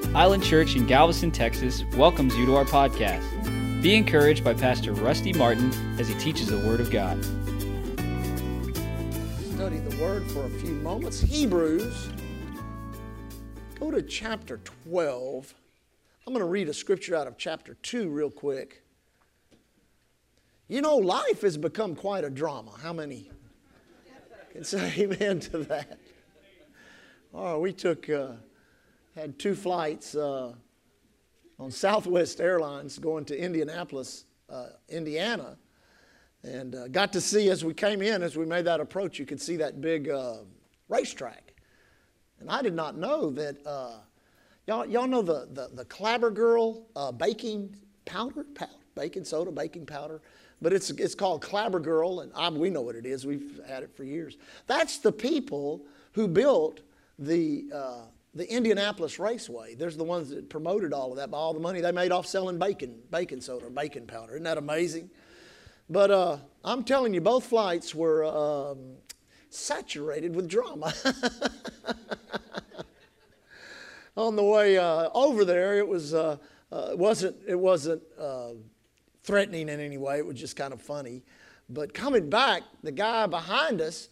Island Church in Galveston, Texas welcomes you to our podcast. Be encouraged by Pastor Rusty Martin as he teaches the Word of God. Study the Word for a few moments. Hebrews. Go to chapter 12. I'm going to read a scripture out of chapter 2 real quick. You know, life has become quite a drama. How many can say amen to that? Oh, we had 2 flights on Southwest Airlines going to Indianapolis, Indiana, and got to see as we came in, as we made that approach, you could see that big racetrack. And I did not know that, y'all know the Clabber Girl baking powder, baking soda, baking powder, but it's called Clabber Girl, and we know what it is. We've had it for years. That's the people who built the Indianapolis Raceway. There's the ones that promoted all of that by all the money they made off selling baking soda or baking powder. Isn't that amazing? But I'm telling you, both flights were saturated with drama. On the way over there, it wasn't threatening in any way. It was just kind of funny. But coming back, the guy behind us,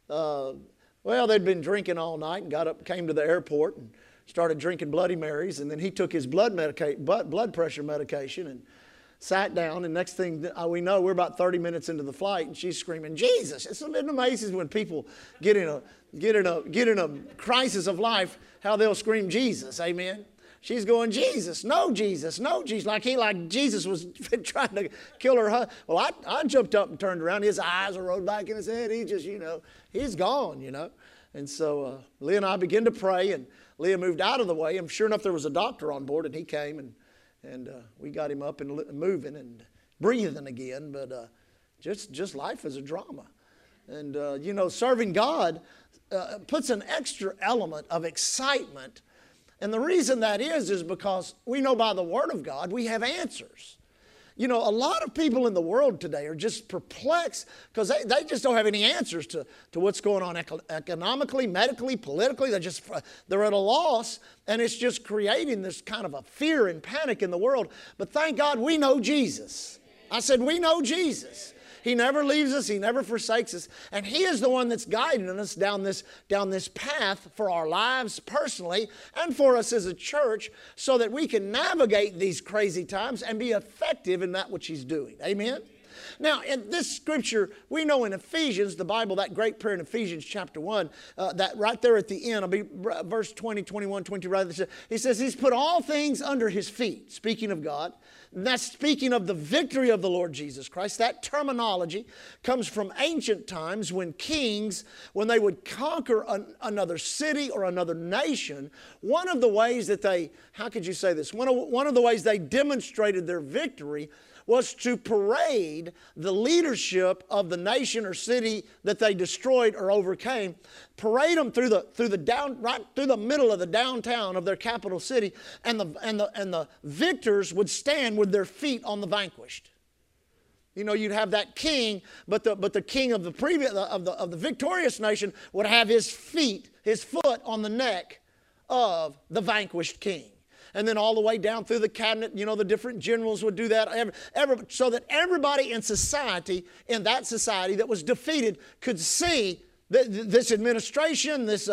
well, they'd been drinking all night and came to the airport and started drinking Bloody Marys. And then he took his blood pressure medication and sat down. And next thing we know, we're about 30 minutes into the flight, and she's screaming, "Jesus!" It's amazing when people get in a crisis of life, how they'll scream Jesus. Amen. She's going, "Jesus, no Jesus, no Jesus," like Jesus was trying to kill her. Well, I jumped up and turned around. His eyes are rolled back in his head. He just, he's gone, And so Leah and I began to pray, and Leah moved out of the way. And sure enough, there was a doctor on board, and he came, and we got him up and moving and breathing again. But just life is a drama. And, serving God puts an extra element of excitement. And the reason that is because we know by the Word of God we have answers. A lot of people in the world today are just perplexed because they just don't have any answers to what's going on economically, medically, politically. They're at a loss, and it's just creating this kind of a fear and panic in the world. But thank God we know Jesus. I said we know Jesus. He never leaves us. He never forsakes us. And He is the one that's guiding us down this path for our lives personally and for us as a church so that we can navigate these crazy times and be effective in that which He's doing. Amen? Now, in this scripture, we know in Ephesians, the Bible, that great prayer in Ephesians chapter 1, that right there at the end, I'll be verse 20, 21, 22, right there, He says He's put all things under His feet, speaking of God. And that's speaking of the victory of the Lord Jesus Christ. That terminology comes from ancient times when kings, when they would conquer another city or another nation, one of the ways that how could you say this? One of the ways they demonstrated their victory was to parade the leadership of the nation or city that they destroyed or overcame, parade them right through the middle of the downtown of their capital city, and the victors would stand with their feet on the vanquished. You'd have that king, but the king of the victorious nation would have his foot on the neck of the vanquished king. And then all the way down through the cabinet, the different generals would do that, so that everybody in that society that was defeated could see that this administration, this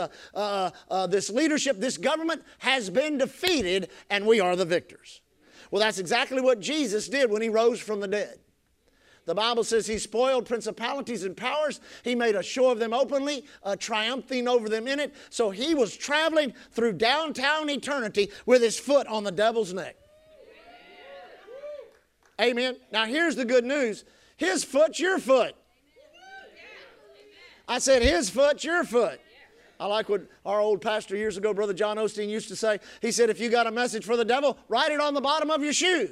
leadership, this government has been defeated, and we are the victors. Well, that's exactly what Jesus did when He rose from the dead. The Bible says He spoiled principalities and powers. He made a show of them openly, triumphing over them in it. So He was traveling through downtown eternity with His foot on the devil's neck. Amen. Now here's the good news. His foot's your foot. I said His foot's your foot. I like what our old pastor years ago, Brother John Osteen, used to say. He said, if you got a message for the devil, write it on the bottom of your shoe.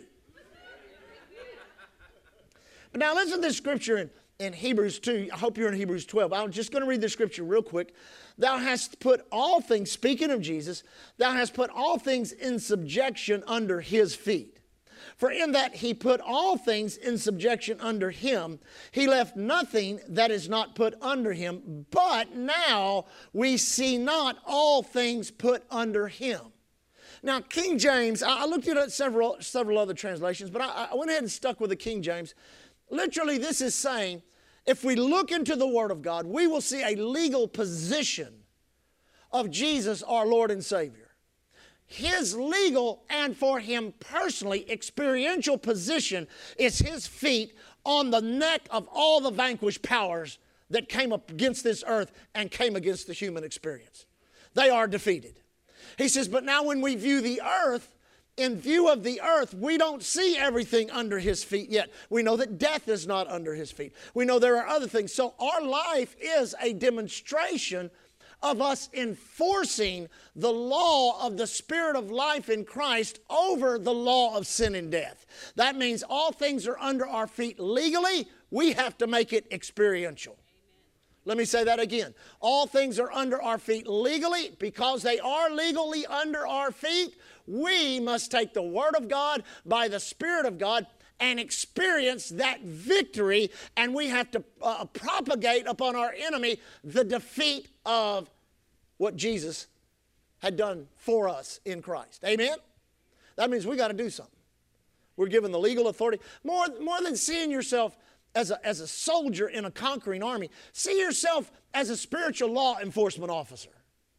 But now listen to this scripture in Hebrews 2. I hope you're in Hebrews 12. I'm just going to read the scripture real quick. Thou hast put all things, speaking of Jesus, thou hast put all things in subjection under His feet. For in that He put all things in subjection under Him, He left nothing that is not put under Him. But now we see not all things put under Him. Now, King James, I looked at several other translations, but I went ahead and stuck with the King James. Literally, this is saying, if we look into the Word of God, we will see a legal position of Jesus, our Lord and Savior. His legal and for Him personally experiential position is His feet on the neck of all the vanquished powers that came up against this earth and came against the human experience. They are defeated. He says, but now when we view the earth, in view of the earth, we don't see everything under His feet yet. We know that death is not under His feet. We know there are other things. So our life is a demonstration of us enforcing the law of the Spirit of life in Christ over the law of sin and death. That means all things are under our feet legally. We have to make it experiential. Let me say that again. All things are under our feet legally. Because they are legally under our feet, we must take the Word of God by the Spirit of God and experience that victory. And we have to propagate upon our enemy the defeat of what Jesus had done for us in Christ. Amen? That means we got to do something. We're given the legal authority. More than seeing yourself as a soldier in a conquering army, see yourself as a spiritual law enforcement officer.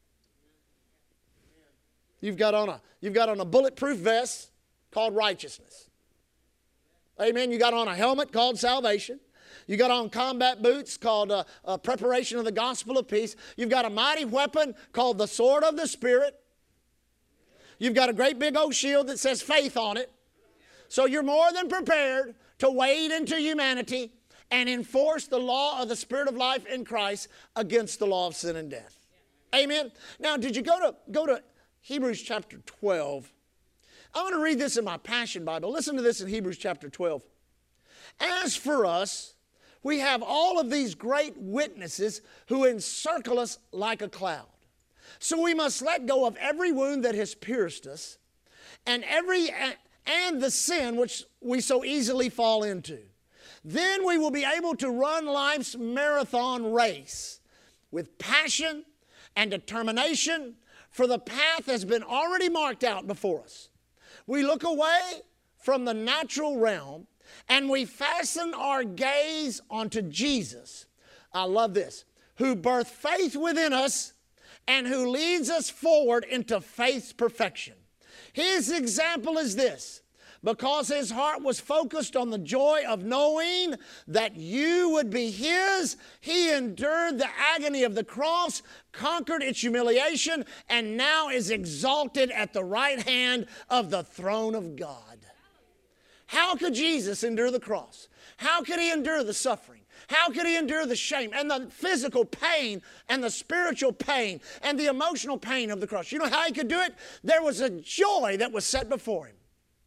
You've got on a bulletproof vest called righteousness. Amen. You got on a helmet called salvation. You got on combat boots called preparation of the gospel of peace. You've got a mighty weapon called the sword of the Spirit. You've got a great big old shield that says faith on it. So you're more than prepared to wade into humanity and enforce the law of the Spirit of life in Christ against the law of sin and death. Amen. Now, did you go to Hebrews chapter 12? I want to read this in my Passion Bible. Listen to this in Hebrews chapter 12. As for us, we have all of these great witnesses who encircle us like a cloud. So we must let go of every wound that has pierced us and the sin which we so easily fall into. Then we will be able to run life's marathon race with passion and determination, for the path has been already marked out before us. We look away from the natural realm and we fasten our gaze onto Jesus. I love this. Who birthed faith within us and who leads us forward into faith's perfection. His example is this. Because his heart was focused on the joy of knowing that you would be his, he endured the agony of the cross, conquered its humiliation, and now is exalted at the right hand of the throne of God. How could Jesus endure the cross? How could he endure the suffering? How could he endure the shame and the physical pain and the spiritual pain and the emotional pain of the cross? You know how he could do it? There was a joy that was set before him.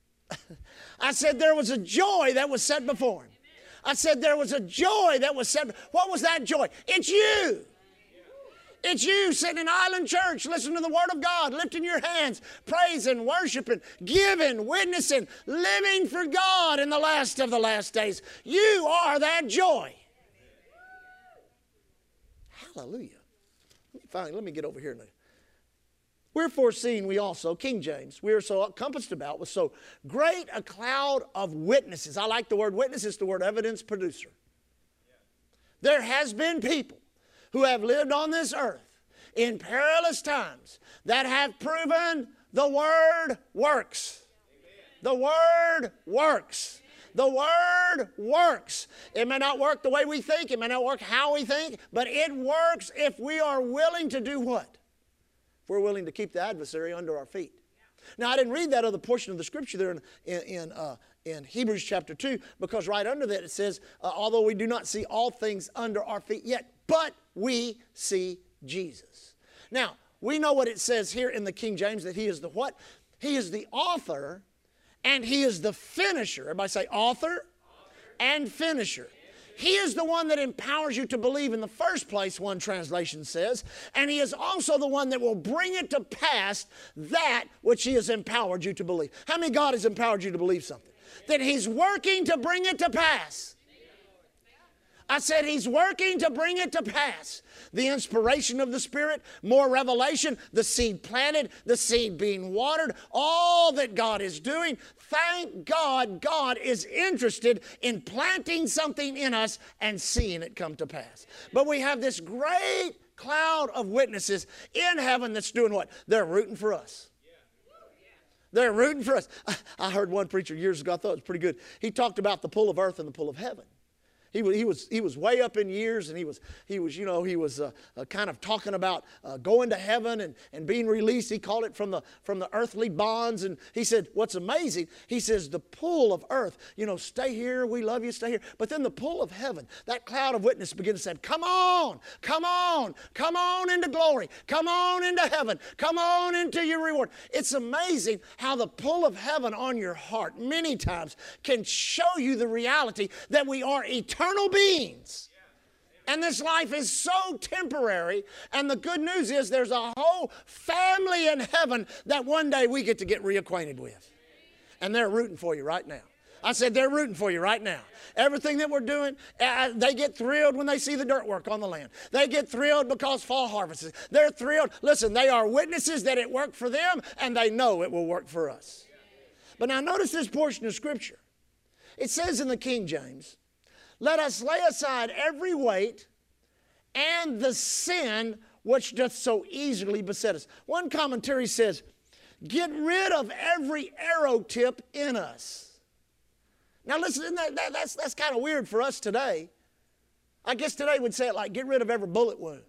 I said there was a joy that was set before him. I said there was a joy that was set. What was that joy? It's you. It's you sitting in Island Church, listening to the Word of God, lifting your hands, praising, worshiping, giving, witnessing, living for God in the last of the last days. You are that joy. Hallelujah. Let me get over here now. Wherefore, seeing we also, King James, we are so compassed about with so great a cloud of witnesses. I like the word witness, it's the word evidence producer. There has been people who have lived on this earth in perilous times that have proven the Word works. The Word works. The Word works. It may not work the way we think, it may not work how we think, but it works if we are willing to do what? We're willing to keep the adversary under our feet. Now, I didn't read that other portion of the scripture there in Hebrews chapter 2, because right under that it says, although we do not see all things under our feet yet, but we see Jesus. Now, we know what it says here in the King James, that he is the what? He is the author and he is the finisher. Everybody say author and finisher. He is the one that empowers you to believe in the first place, one translation says. And he is also the one that will bring it to pass that which he has empowered you to believe. How many God has empowered you to believe something? That he's working to bring it to pass. I said He's working to bring it to pass. The inspiration of the Spirit, more revelation, the seed planted, the seed being watered, all that God is doing. Thank God, God is interested in planting something in us and seeing it come to pass. But we have this great cloud of witnesses in heaven that's doing what? They're rooting for us. They're rooting for us. I heard one preacher years ago, I thought it was pretty good. He talked about the pull of earth and the pull of heaven. He was way up in years, and he was kind of talking about going to heaven and being released. He called it from the earthly bonds. And he said, what's amazing, he says, the pull of earth, stay here, we love you, stay here. But then the pull of heaven, that cloud of witness begins to say, come on, come on, come on into glory, come on into heaven, come on into your reward. It's amazing how the pull of heaven on your heart many times can show you the reality that we are eternal beings. And this life is so temporary. And the good news is there's a whole family in heaven that one day we get to get reacquainted with. And they're rooting for you right now. I said they're rooting for you right now. Everything that we're doing, they get thrilled when they see the dirt work on the land. They get thrilled because fall harvest is. They're thrilled. Listen, they are witnesses that it worked for them, and they know it will work for us. But now notice this portion of Scripture. It says in the King James, let us lay aside every weight and the sin which doth so easily beset us. One commentary says, get rid of every arrow tip in us. Now listen, that's kind of weird for us today. I guess today we'd say it like, get rid of every bullet wound.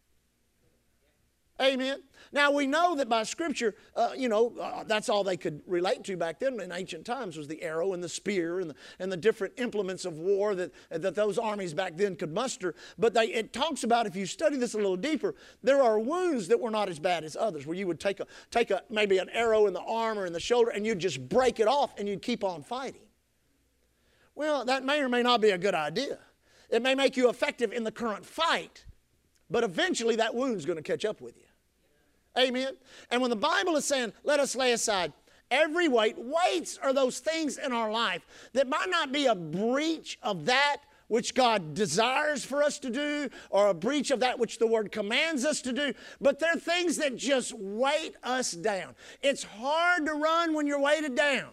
Amen. Now we know that by Scripture, that's all they could relate to back then in ancient times was the arrow and the spear and the different implements of war that those armies back then could muster. But it talks about, if you study this a little deeper, there are wounds that were not as bad as others, where you would take maybe an arrow in the arm or in the shoulder and you'd just break it off and you'd keep on fighting. Well, that may or may not be a good idea. It may make you effective in the current fight, but eventually that wound's going to catch up with you. Amen. And when the Bible is saying, let us lay aside every weight, weights are those things in our life that might not be a breach of that which God desires for us to do, or a breach of that which the Word commands us to do, but they're things that just weight us down. It's hard to run when you're weighted down.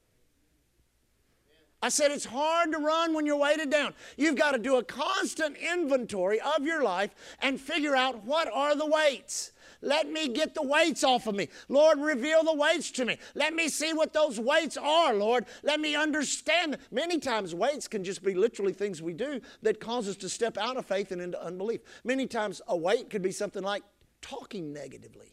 I said it's hard to run when you're weighted down. You've got to do a constant inventory of your life and figure out what are the weights. Let me get the weights off of me. Lord, reveal the weights to me. Let me see what those weights are, Lord. Let me understand. Many times weights can just be literally things we do that cause us to step out of faith and into unbelief. Many times a weight could be something like talking negatively.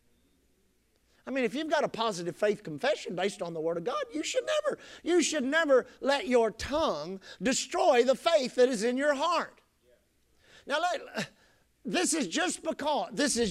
I mean, if you've got a positive faith confession based on the Word of God, you should never let your tongue destroy the faith that is in your heart. Now, this is just because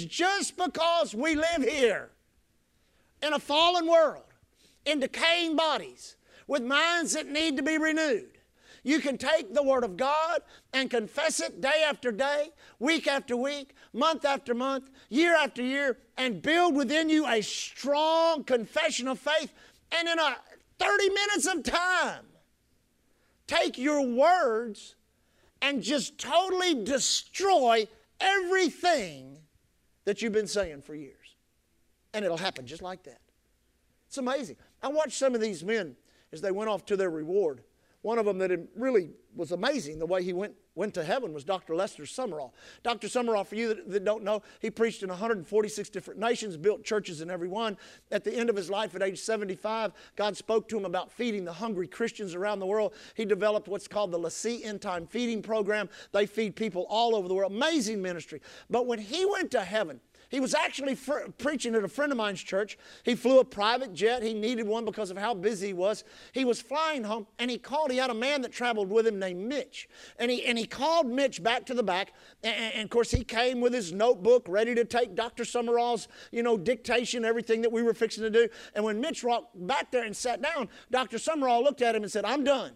we live here in a fallen world, in decaying bodies, with minds that need to be renewed. You can take the Word of God and confess it day after day, week after week, month after month, year after year, and build within you a strong confession of faith. And in 30 minutes of time, take your words and just totally destroy everything that you've been saying for years. And it'll happen just like that. It's amazing. I watched some of these men as they went off to their reward. One of them that really was amazing, the way he went to heaven, was Dr. Lester Sumrall. Dr. Sumrall, for you that don't know, he preached in 146 different nations, built churches in every one. At the end of his life, at age 75, God spoke to him about feeding the hungry Christians around the world. He developed what's called the LaCie End Time Feeding Program. They feed people all over the world. Amazing ministry. But when he went to heaven, he was actually preaching at a friend of mine's church. He flew a private jet. He needed one because of how busy he was. He was flying home, and he had a man that traveled with him named Mitch. And he called Mitch back to the back. And of course, he came with his notebook ready to take Dr. Sumrall's, dictation, everything that we were fixing to do. And when Mitch walked back there and sat down, Dr. Sumrall looked at him and said, "I'm done."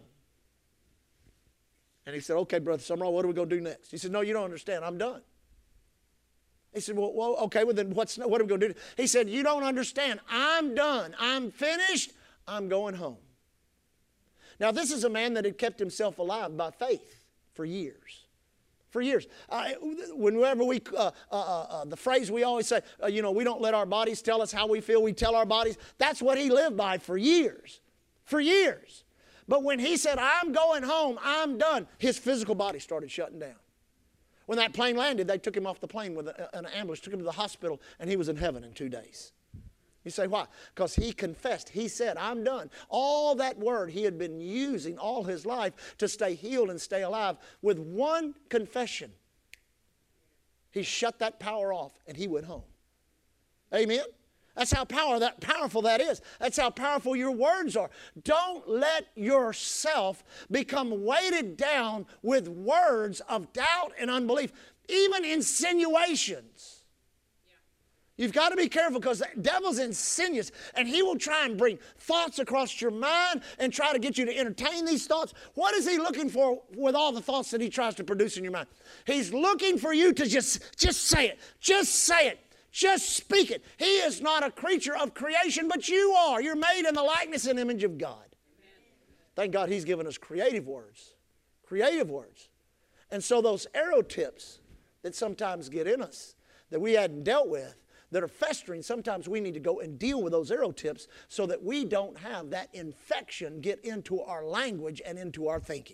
And he said, "Okay, Brother Sumrall, what are we going to do next?" He said, "No, you don't understand. I'm done." He said, well, okay, well then what are we going to do? He said, "You don't understand. I'm done. I'm finished. I'm going home." Now, this is a man that had kept himself alive by faith. for years. For years. Whenever we, the phrase we always say, we don't let our bodies tell us how we feel, we tell our bodies. That's what he lived by for years. For years. But when he said, I'm going home, I'm done, his physical body started shutting down. When that plane landed, they took him off the plane with an ambulance, took him to the hospital, and he was in heaven in 2 days. You say, why? Because he confessed. He said, I'm done. All that word he had been using all his life to stay healed and stay alive, with one confession, he shut that power off and he went home. Amen? That's how powerful that is. That's how powerful your words are. Don't let yourself become weighted down with words of doubt and unbelief, even insinuations. You've got to be careful, because the devil's insidious, and he will try and bring thoughts across your mind and try to get you to entertain these thoughts. What is he looking for with all the thoughts that he tries to produce in your mind? He's looking for you to just say it. Just say it. Just speak it. He is not a creature of creation, but you are. You're made in the likeness and image of God. Amen. Thank God he's given us creative words. Creative words. And so those arrow tips that sometimes get in us, that we hadn't dealt with, that are festering, sometimes we need to go and deal with those arrow tips so that we don't have that infection get into our language and into our thinking.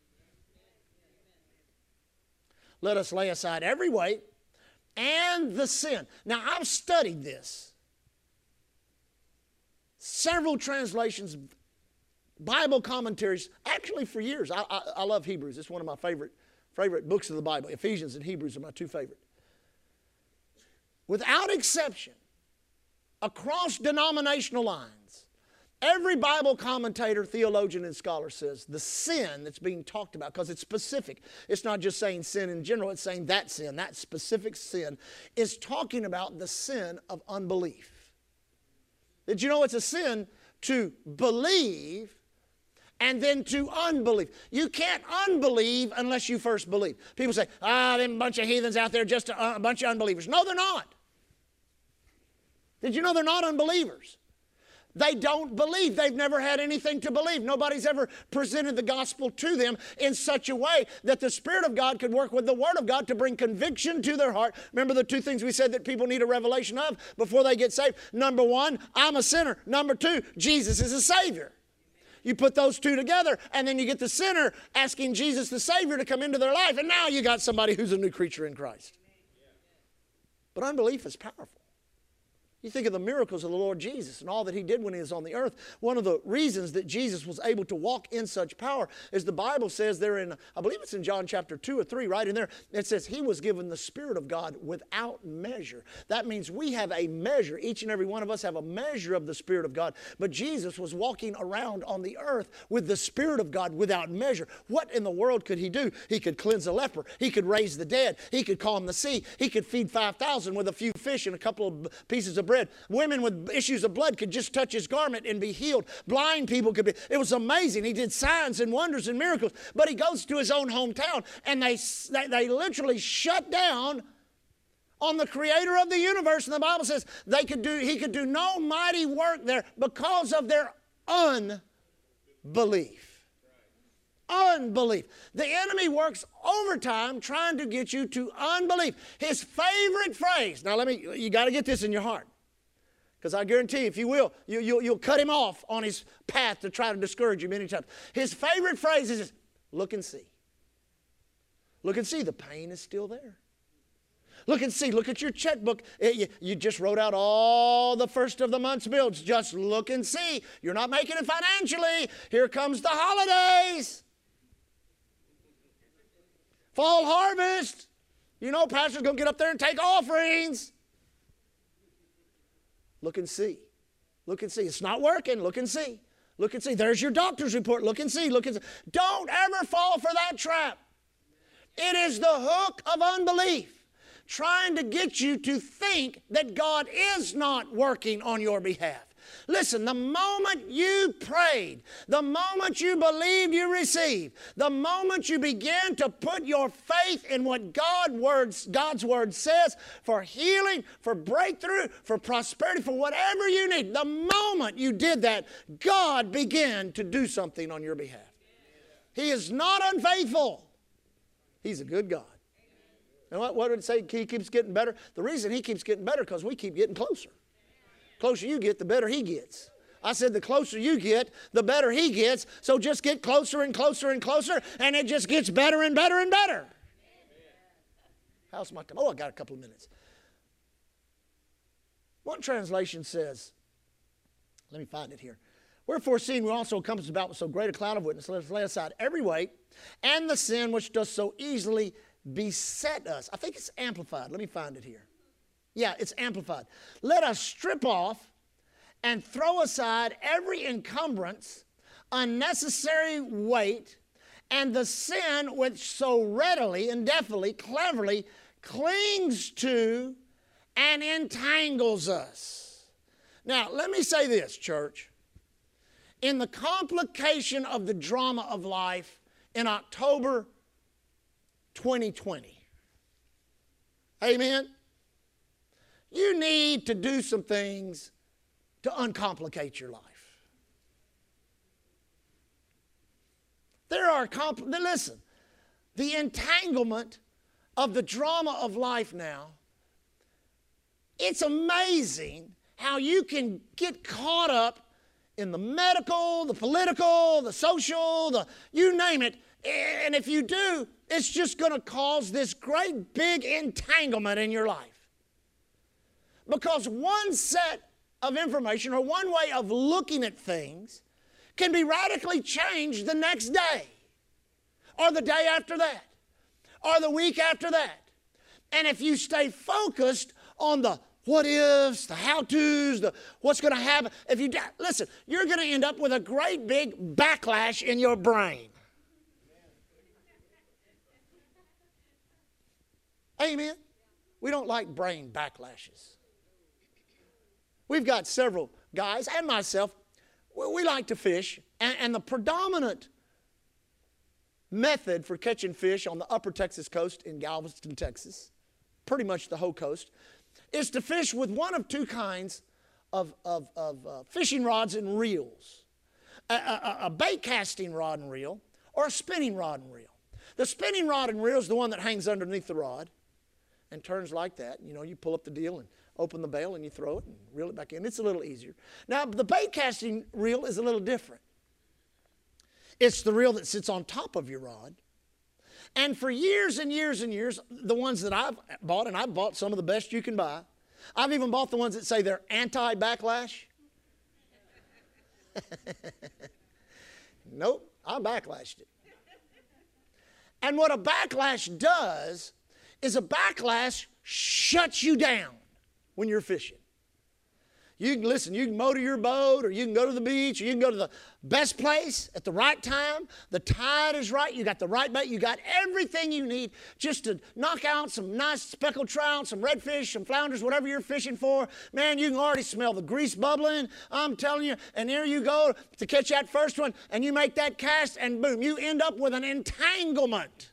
Let us lay aside every weight and the sin. Now, I've studied this. Several translations, Bible commentaries, actually for years. I love Hebrews. It's one of my favorite books of the Bible. Ephesians and Hebrews are my two favorite. Without exception, across denominational lines, every Bible commentator, theologian, and scholar says the sin that's being talked about, because it's specific. It's not just saying sin in general, it's saying that sin, that specific sin, is talking about the sin of unbelief. Did you know it's a sin to believe and then to unbelieve? You can't unbelieve unless you first believe. People say, them bunch of heathens out there, just a bunch of unbelievers. No, they're not. Did you know they're not unbelievers? They don't believe. They've never had anything to believe. Nobody's ever presented the gospel to them in such a way that the Spirit of God could work with the Word of God to bring conviction to their heart. Remember the two things we said that people need a revelation of before they get saved? Number one, I'm a sinner. Number two, Jesus is a Savior. You put those two together, and then you get the sinner asking Jesus the Savior to come into their life, and now you got somebody who's a new creature in Christ. But unbelief is powerful. You think of the miracles of the Lord Jesus and all that he did when he was on the earth. One of the reasons that Jesus was able to walk in such power is the Bible says there in, I believe it's in John chapter 2 or 3, right in there, it says he was given the Spirit of God without measure. That means we have a measure. Each and every one of us have a measure of the Spirit of God. But Jesus was walking around on the earth with the Spirit of God without measure. What in the world could he do? He could cleanse a leper. He could raise the dead. He could calm the sea. He could feed 5,000 with a few fish and a couple of pieces of bread. Women with issues of blood could just touch his garment and be healed. Blind people could be. It was amazing. He did signs and wonders and miracles. But he goes to his own hometown, and they literally shut down on the creator of the universe. And the Bible says he could do no mighty work there because of their unbelief. Unbelief. The enemy works overtime trying to get you to unbelief. His favorite phrase, now you got to get this in your heart, because I guarantee you, if you will, you'll cut him off on his path to try to discourage you many times. His favorite phrase is this: look and see. Look and see, the pain is still there. Look and see, look at your checkbook. You just wrote out all the first of the month's bills. Just look and see. You're not making it financially. Here comes the holidays. Fall harvest. You know, pastor's going to get up there and take offerings. Look and see. Look and see. It's not working. Look and see. Look and see. There's your doctor's report. Look and see. Look and see. Don't ever fall for that trap. It is the hook of unbelief, trying to get you to think that God is not working on your behalf. Listen, the moment you prayed, the moment you believed you received, the moment you begin to put your faith in what God's Word says for healing, for breakthrough, for prosperity, for whatever you need, the moment you did that, God began to do something on your behalf. He is not unfaithful. He's a good God. And what did it say? He keeps getting better. The reason He keeps getting better because we keep getting closer. The closer you get, the better He gets. I said the closer you get, the better He gets. So just get closer and closer and closer, and it just gets better and better and better. How's my time? Oh, I got a couple of minutes. One translation says, let me find it here. Wherefore, seeing we also encompassed about with so great a cloud of witnesses, let us lay aside every weight and the sin which does so easily beset us. I think it's amplified. Let me find it here. Yeah, it's amplified. Let us strip off and throw aside every encumbrance, unnecessary weight, and the sin which so readily and deftly, cleverly clings to and entangles us. Now, let me say this, church. In the complication of the drama of life in October 2020, amen, you need to do some things to uncomplicate your life. Listen, the entanglement of the drama of life now, it's amazing how you can get caught up in the medical, the political, the social, you name it. And if you do, it's just going to cause this great big entanglement in your life. Because one set of information or one way of looking at things can be radically changed the next day or the day after that or the week after that. And if you stay focused on the what ifs, the how-tos, the what's going to happen, listen, you're going to end up with a great big backlash in your brain. Amen? We don't like brain backlashes. We've got several guys, and myself, we like to fish, and the predominant method for catching fish on the upper Texas coast in Galveston, Texas, pretty much the whole coast, is to fish with one of two kinds of fishing rods and reels. A bait casting rod and reel or a spinning rod and reel. The spinning rod and reel is the one that hangs underneath the rod and turns like that. You know, you pull up the deal and open the bail and you throw it and reel it back in. It's a little easier. Now, the bait casting reel is a little different. It's the reel that sits on top of your rod. And for years and years and years, the ones that I've bought, and I've bought some of the best you can buy. I've even bought the ones that say they're anti-backlash. Nope, I backlashed it. And what a backlash does is a backlash shuts you down when you're fishing. You can motor your boat, or you can go to the beach, or you can go to the best place at the right time. The tide is right. You got the right bait. You got everything you need just to knock out some nice speckled trout, some redfish, some flounders, whatever you're fishing for. Man, you can already smell the grease bubbling. I'm telling you. And there you go to catch that first one, and you make that cast, and boom, you end up with an entanglement.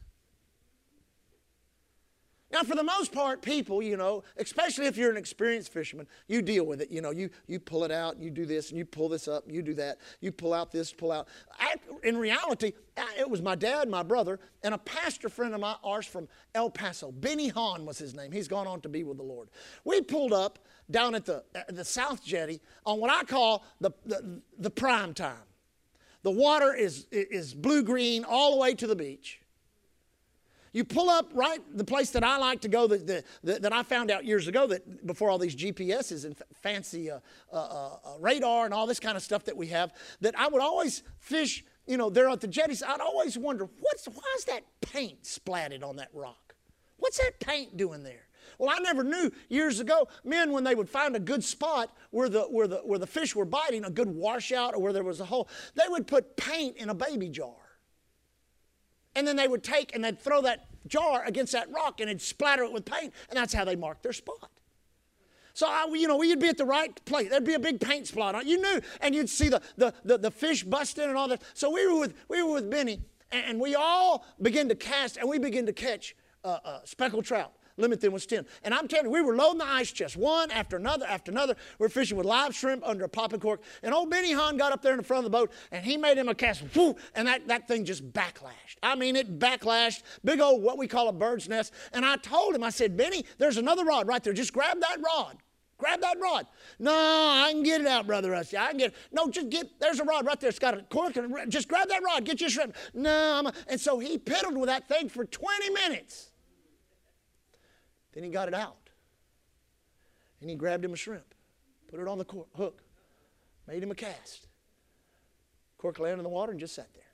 Now, for the most part, people, you know, especially if you're an experienced fisherman, you deal with it. You know, you pull it out, and you do this, and you pull this up, and you do that. You pull out this, pull out. In reality, it was my dad, my brother, and a pastor friend of ours from El Paso. Benny Hahn was his name. He's gone on to be with the Lord. We pulled up down at the South Jetty on what I call the prime time. The water is blue-green all the way to the beach. You pull up right the place that I like to go that I found out years ago that before all these GPSs and fancy radar and all this kind of stuff that we have, that I would always fish, you know, there at the jetties. I'd always wonder, why is that paint splatted on that rock? What's that paint doing there? Well, I never knew years ago, men, when they would find a good spot where the fish were biting, a good washout or where there was a hole, they would put paint in a baby jar. And then they would take and they'd throw that jar against that rock and it'd splatter it with paint, and that's how they marked their spot. So, we'd be at the right place. There'd be a big paint spot on it. You knew, and you'd see the fish busting and all that. So we were with Benny, and we all began to cast, and we began to catch speckled trout, limit then was 10. And I'm telling you, we were loading the ice chest, one after another after another. We're fishing with live shrimp under a popping cork. And old Benny Hahn got up there in the front of the boat, and he made him a cast. Whoo, and that thing just backlashed. I mean, it backlashed. Big old, what we call a bird's nest. And I told him, I said, Benny, there's another rod right there. Just grab that rod. Grab that rod. No, I can get it out, Brother Rusty. I can get it. No, just there's a rod right there. It's got a cork. And just grab that rod. Get your shrimp. No. And so he piddled with that thing for 20 minutes. Then he got it out. And he grabbed him a shrimp. Put it on the hook. Made him a cast. Cork landed in the water and just sat there.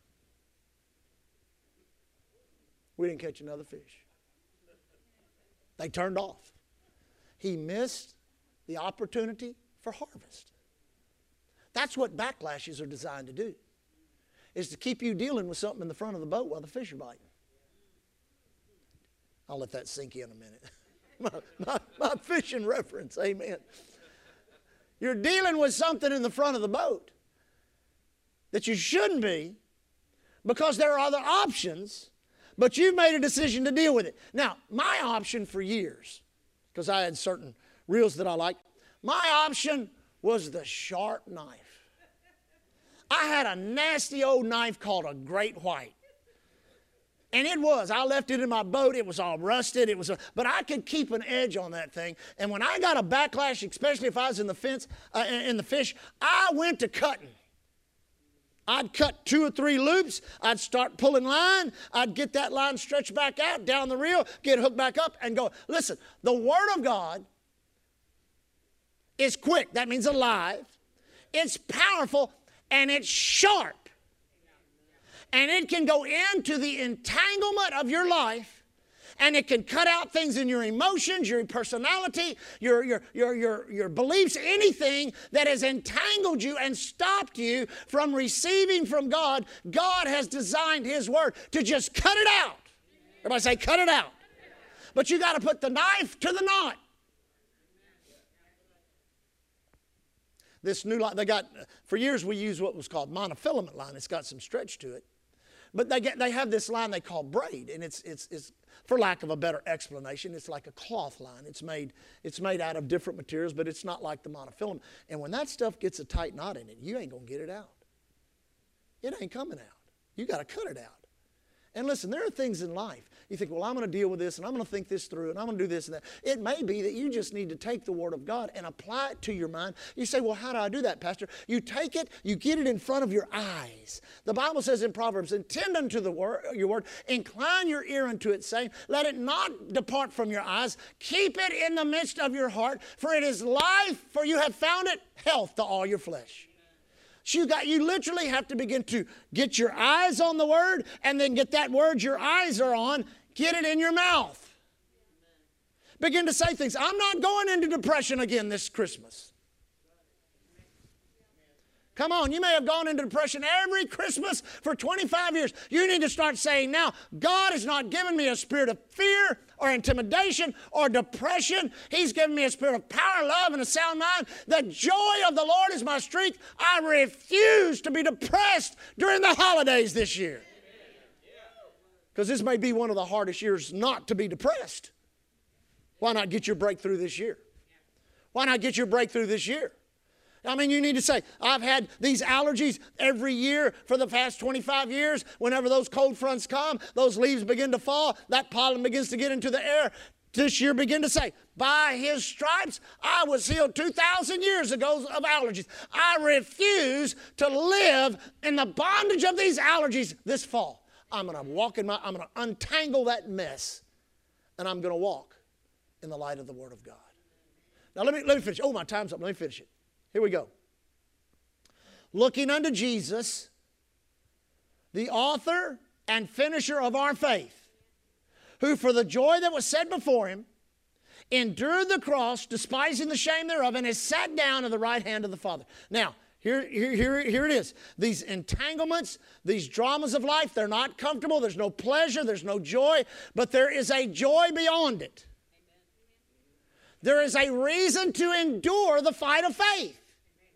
We didn't catch another fish. They turned off. He missed the opportunity for harvest. That's what backlashes are designed to do, is to keep you dealing with something in the front of the boat while the fish are biting. I'll let that sink in a minute. my fishing reference, amen. You're dealing with something in the front of the boat that you shouldn't be, because there are other options, but you've made a decision to deal with it. Now, my option for years, because I had certain reels that I liked, my option was the sharp knife. I had a nasty old knife called a Great White. And I left it in my boat. It was all rusted. But I could keep an edge on that thing. And when I got a backlash, especially if I was in the fish, I went to cutting. I'd cut 2 or 3 loops. I'd start pulling line. I'd get that line stretched back out, down the reel, get hooked back up, and go. Listen, the Word of God is quick. That means alive. It's powerful, and it's sharp. And it can go into the entanglement of your life, and it can cut out things in your emotions, your personality, your beliefs, anything that has entangled you and stopped you from receiving from God. God has designed His Word to just cut it out. Everybody say, cut it out. But you got to put the knife to the knot. This new line, for years we used what was called monofilament line. It's got some stretch to it. But they have this line they call braid, and it's for lack of a better explanation, it's like a cloth line. It's made out of different materials, but it's not like the monofilament. And when that stuff gets a tight knot in it, you ain't going to get it out. It ain't coming out. You got to cut it out. And listen, there are things in life. You think, well, I'm going to deal with this, and I'm going to think this through, and I'm going to do this and that. It may be that you just need to take the Word of God and apply it to your mind. You say, well, how do I do that, Pastor? You take it, you get it in front of your eyes. The Bible says in Proverbs, attend unto your word, incline your ear unto it, saying, let it not depart from your eyes. Keep it in the midst of your heart, for it is life, for you have found it health to all your flesh. So you literally have to begin to get your eyes on the Word, and then get that Word your eyes are on, get it in your mouth. Begin to say things. I'm not going into depression again this Christmas. Come on, you may have gone into depression every Christmas for 25 years. You need to start saying now, God has not given me a spirit of fear or intimidation or depression. He's given me a spirit of power, love, and a sound mind. The joy of the Lord is my strength. I refuse to be depressed during the holidays this year. Because this may be one of the hardest years not to be depressed. Why not get your breakthrough this year? Why not get your breakthrough this year? I mean, you need to say, I've had these allergies every year for the past 25 years. Whenever those cold fronts come, those leaves begin to fall, that pollen begins to get into the air. This year begin to say, by His stripes, I was healed 2,000 years ago of allergies. I refuse to live in the bondage of these allergies this fall. I'm going to I'm going to untangle that mess, and I'm going to walk in the light of the Word of God. Now let me finish. Oh, my time's up. Let me finish it. Here we go. Looking unto Jesus, the author and finisher of our faith, who for the joy that was set before Him endured the cross, despising the shame thereof, and is sat down at the right hand of the Father. Now, here it is. These entanglements, these dramas of life, they're not comfortable. There's no pleasure. There's no joy. But there is a joy beyond it. There is a reason to endure the fight of faith.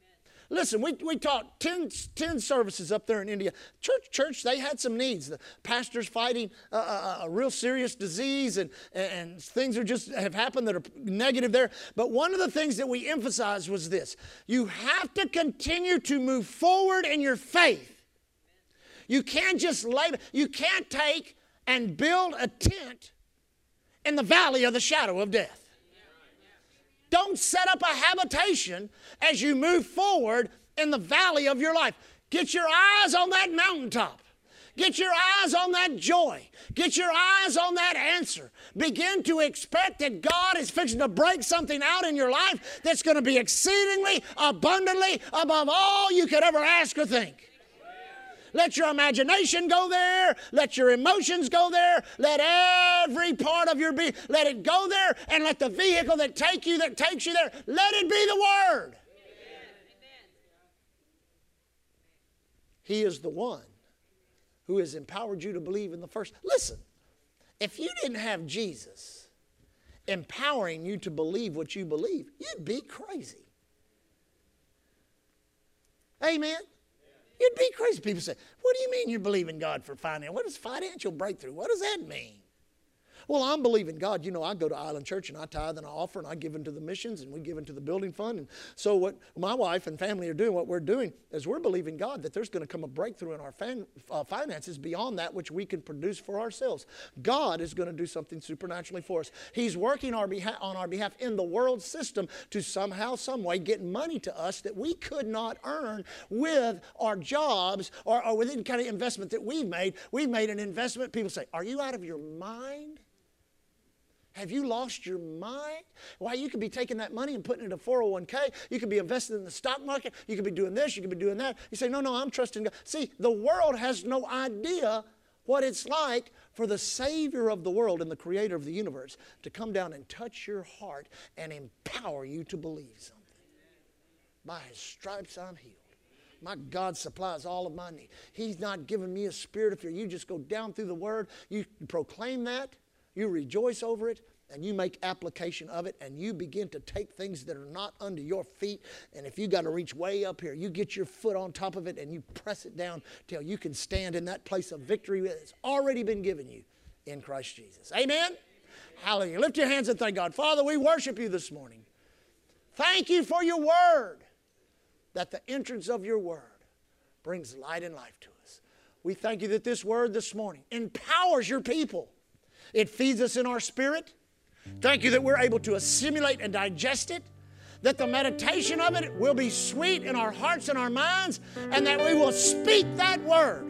Listen, we taught 10 services up there in India. Church, they had some needs. The pastor's fighting a real serious disease, and things have happened that are negative there. But one of the things that we emphasized was this. You have to continue to move forward in your faith. You can't just you can't take and build a tent in the valley of the shadow of death. Don't set up a habitation as you move forward in the valley of your life. Get your eyes on that mountaintop. Get your eyes on that joy. Get your eyes on that answer. Begin to expect that God is fixing to break something out in your life that's going to be exceedingly, abundantly, above all you could ever ask or think. Let your imagination go there. Let your emotions go there. Let every part of your being, let it go there, and let the vehicle that takes you there, let it be the Word. Amen. He is the one who has empowered you to believe in the first. Listen, if you didn't have Jesus empowering you to believe what you believe, you'd be crazy. Amen. You'd be crazy. People say, what do you mean you believe in God for finance? What is financial breakthrough? What does that mean? Well, I'm believing God. You know, I go to Island Church and I tithe and I offer and I give into the missions and we give into the building fund. And so what my wife and family are doing, what we're doing is we're believing God that there's going to come a breakthrough in our finances beyond that which we can produce for ourselves. God is going to do something supernaturally for us. He's working on our behalf in the world system to somehow, some way get money to us that we could not earn with our jobs or with any kind of investment that we've made. We've made an investment. People say, are you out of your mind? Have you lost your mind? Why, you could be taking that money and putting it in a 401k. You could be investing in the stock market. You could be doing this. You could be doing that. You say, no, I'm trusting God. See, the world has no idea what it's like for the Savior of the world and the Creator of the universe to come down and touch your heart and empower you to believe something. By His stripes I'm healed. My God supplies all of my need. He's not given me a spirit of fear. You just go down through the Word. You proclaim that. You rejoice over it, and you make application of it, and you begin to take things that are not under your feet. And if you got to reach way up here, you get your foot on top of it, and you press it down till you can stand in that place of victory that's already been given you in Christ Jesus. Amen? Hallelujah. Lift your hands and thank God. Father, we worship you this morning. Thank you for your word, that the entrance of your word brings light and life to us. We thank you that this word this morning empowers your people. It feeds us in our spirit. Thank you that we're able to assimilate and digest it, that the meditation of it will be sweet in our hearts and our minds, and that we will speak that word.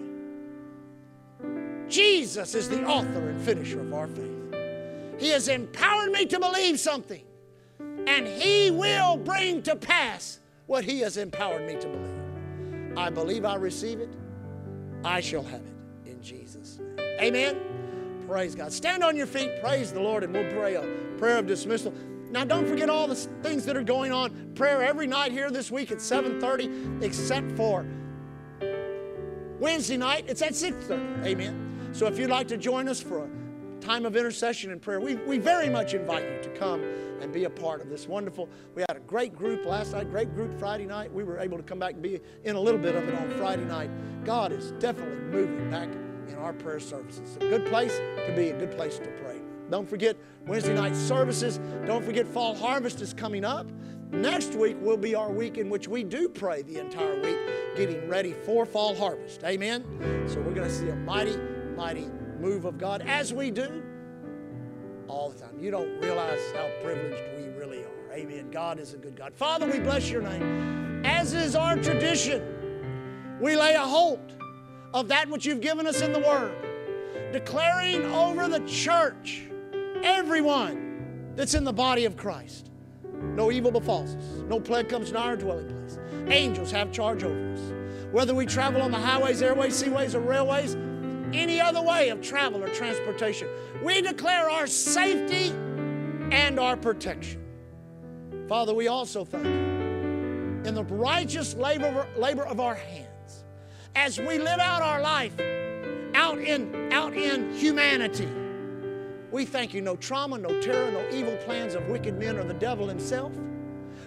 Jesus is the author and finisher of our faith. He has empowered me to believe something, and He will bring to pass what He has empowered me to believe. I believe I receive it. I shall have it in Jesus' name. Amen. Praise God. Stand on your feet, praise the Lord, and we'll pray a prayer of dismissal. Now, don't forget all the things that are going on. Prayer every night here this week at 7:30, except for Wednesday night. It's at 6:30. Amen. So if you'd like to join us for a time of intercession and prayer, we very much invite you to come and be a part of this wonderful. We had a great group last night, great group Friday night. We were able to come back and be in a little bit of it on Friday night. God is definitely moving back in our prayer services. A good place to be, a good place to pray. Don't forget Wednesday night services. Don't forget Fall Harvest is coming up. Next week will be our week in which we do pray the entire week, getting ready for Fall Harvest. Amen? So we're going to see a mighty, mighty move of God, as we do all the time. You don't realize how privileged we really are. Amen. God is a good God. Father, we bless your name. As is our tradition, we lay a hold of that which you've given us in the Word, declaring over the church, everyone that's in the body of Christ, no evil befalls us, no plague comes nigh our dwelling place. Angels have charge over us. Whether we travel on the highways, airways, seaways, or railways, any other way of travel or transportation, we declare our safety and our protection. Father, we also thank you in the righteous labor of our hands, as we live out our life out in humanity. We thank you, no trauma, no terror, no evil plans of wicked men or the devil himself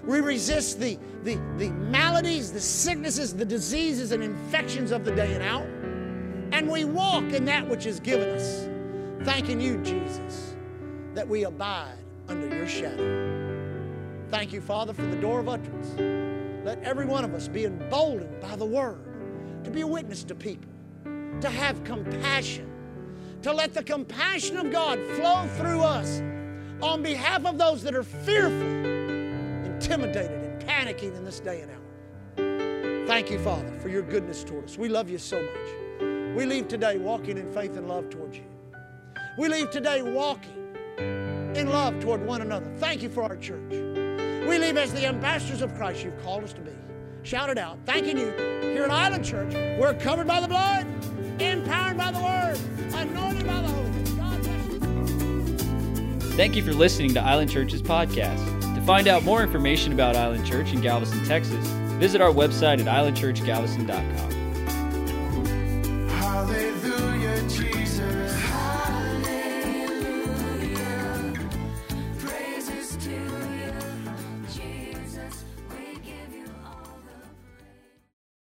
We resist the maladies, the sicknesses, the diseases and infections of the day and hour. And we walk in that which is given us. Thanking you, Jesus, that we abide under your shadow. Thank you, Father, for the door of utterance. Let every one of us be emboldened by the word to be a witness to people, to have compassion, to let the compassion of God flow through us on behalf of those that are fearful, intimidated, and panicking in this day and hour. Thank you, Father, for your goodness toward us. We love you so much. We leave today walking in faith and love towards you. We leave today walking in love toward one another. Thank you for our church. We leave as the ambassadors of Christ you've called us to be. Shout it out. Thanking you. Here at Island Church, we're covered by the blood, empowered by the word, anointed by the Holy Ghost. God bless you. Thank you for listening to Island Church's podcast. To find out more information about Island Church in Galveston, Texas, visit our website at islandchurchgalveston.com.